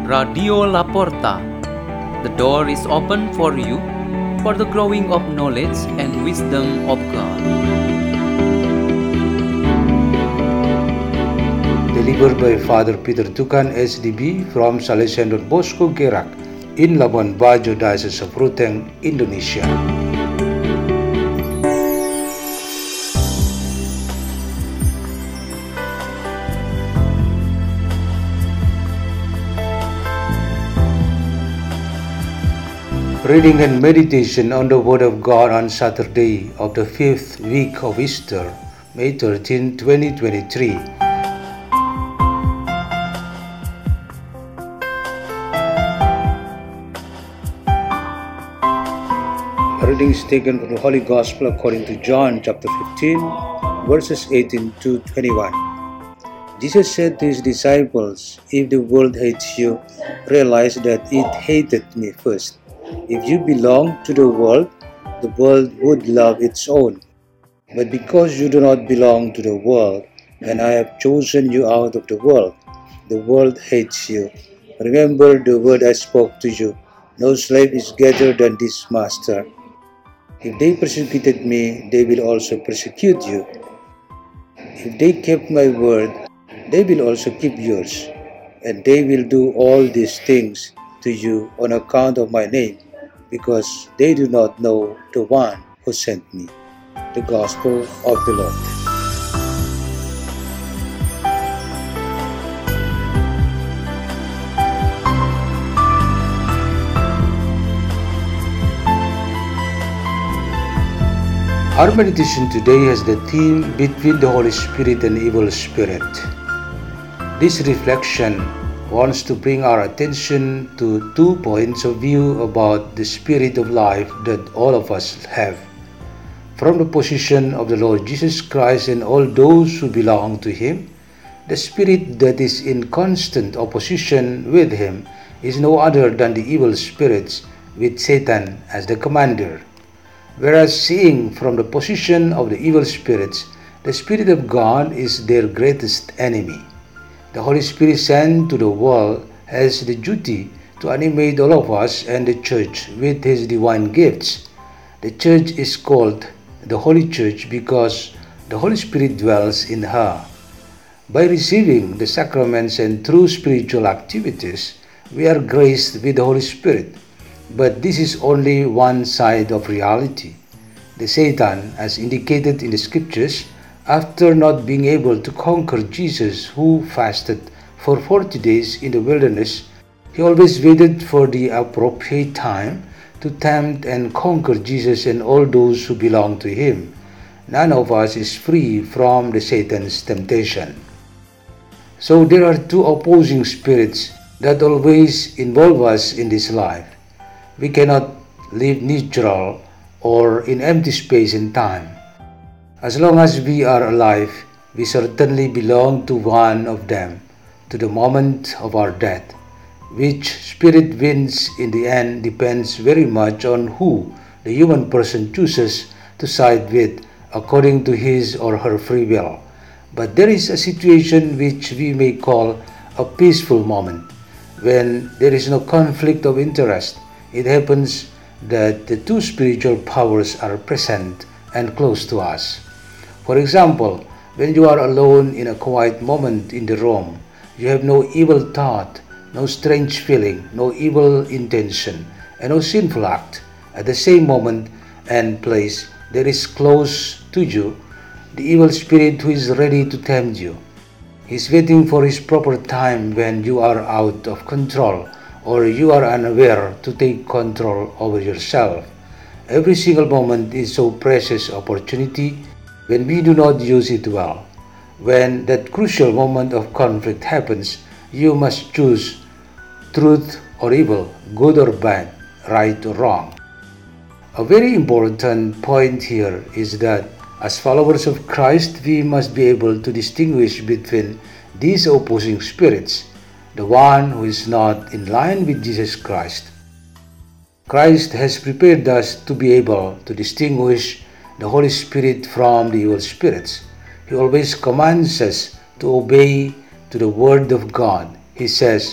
Radio La Porta. The door is open for you for the growing of knowledge and wisdom of God. Delivered by Father Peter Tukan, SDB, from Salesian Don Bosco Gerak in Labuan Bajo, Diocese of Ruteng, Indonesia. Reading and meditation on the Word of God on Saturday of the 5th week of Easter, May 13, 2023. Reading is taken from the Holy Gospel according to John chapter 15, verses 18 to 21. Jesus said to his disciples, "If the world hates you, realize that it hated me first. If you belong to the world would love its own. But because you do not belong to the world, and I have chosen you out of the world hates you. Remember the word I spoke to you. No slave is greater than his master. If they persecuted me, they will also persecute you. If they kept my word, they will also keep yours. And they will do all these things to you on account of my name, because they do not know the one who sent me." The Gospel of the Lord. Our meditation today has the theme Between the Holy Spirit and Evil Spirit. This reflection wants to bring our attention to 2 points of view about the spirit of life that all of us have. From the position of the Lord Jesus Christ and all those who belong to Him, the spirit that is in constant opposition with Him is no other than the evil spirits with Satan as the commander. Whereas seeing from the position of the evil spirits, the Spirit of God is their greatest enemy. The Holy Spirit sent to the world has the duty to animate all of us and the Church with His divine gifts. The Church is called the Holy Church because the Holy Spirit dwells in her. By receiving the sacraments and through spiritual activities, we are graced with the Holy Spirit. But this is only one side of reality. The Satan, as indicated in the scriptures, after not being able to conquer Jesus, who fasted for 40 days in the wilderness, he always waited for the appropriate time to tempt and conquer Jesus and all those who belong to him. None of us is free from the Satan's temptation. So there are 2 opposing spirits that always involve us in this life. We cannot live neutral or in empty space and time. As long as we are alive, we certainly belong to one of them, to the moment of our death. Which spirit wins in the end depends very much on who the human person chooses to side with according to his or her free will. But there is a situation which we may call a peaceful moment, when there is no conflict of interest. It happens that the 2 spiritual powers are present and close to us. For example, when you are alone in a quiet moment in the room, you have no evil thought, no strange feeling, no evil intention, and no sinful act. At the same moment and place, there is close to you the evil spirit who is ready to tempt you. He is waiting for his proper time when you are out of control or you are unaware to take control over yourself. Every single moment is so precious opportunity when we do not use it well. When that crucial moment of conflict happens, you must choose truth or evil, good or bad, right or wrong. A very important point here is that as followers of Christ, we must be able to distinguish between these opposing spirits, the one who is not in line with Jesus Christ. Christ has prepared us to be able to distinguish the Holy Spirit from the evil spirits. He always commands us to obey to the Word of God. He says,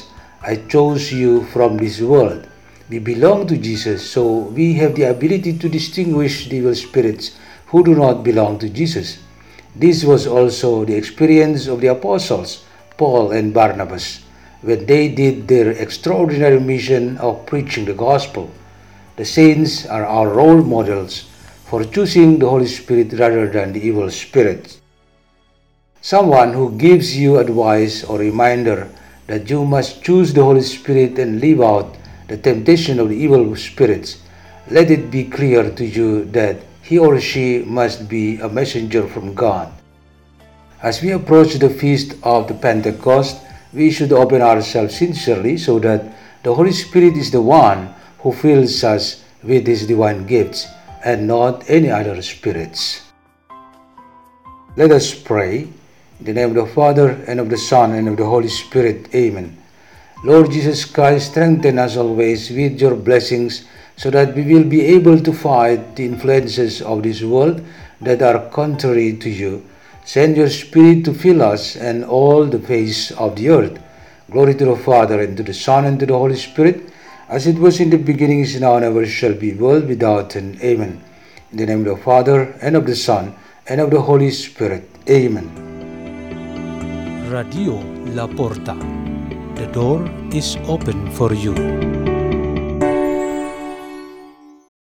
I chose you from this world. We belong to Jesus, so we have the ability to distinguish the evil spirits who do not belong to Jesus. This was also the experience of the apostles, Paul and Barnabas, when they did their extraordinary mission of preaching the gospel. The saints are our role models for choosing the Holy Spirit rather than the evil spirits. Someone who gives you advice or reminder that you must choose the Holy Spirit and leave out the temptation of the evil spirits, let it be clear to you that he or she must be a messenger from God. As we approach the feast of the Pentecost, we should open ourselves sincerely so that the Holy Spirit is the one who fills us with his divine gifts and not any other spirits. Let us pray. In the name of the Father, and of the Son, and of the Holy Spirit. Amen. Lord Jesus Christ, strengthen us always with your blessings so that we will be able to fight the influences of this world that are contrary to you. Send your Spirit to fill us and all the face of the earth. Glory to the Father, and to the Son, and to the Holy Spirit, as it was in the beginning, is now, and ever shall be, world without end. Amen. In the name of the Father, and of the Son, and of the Holy Spirit. Amen. Radio La Porta. The door is open for you.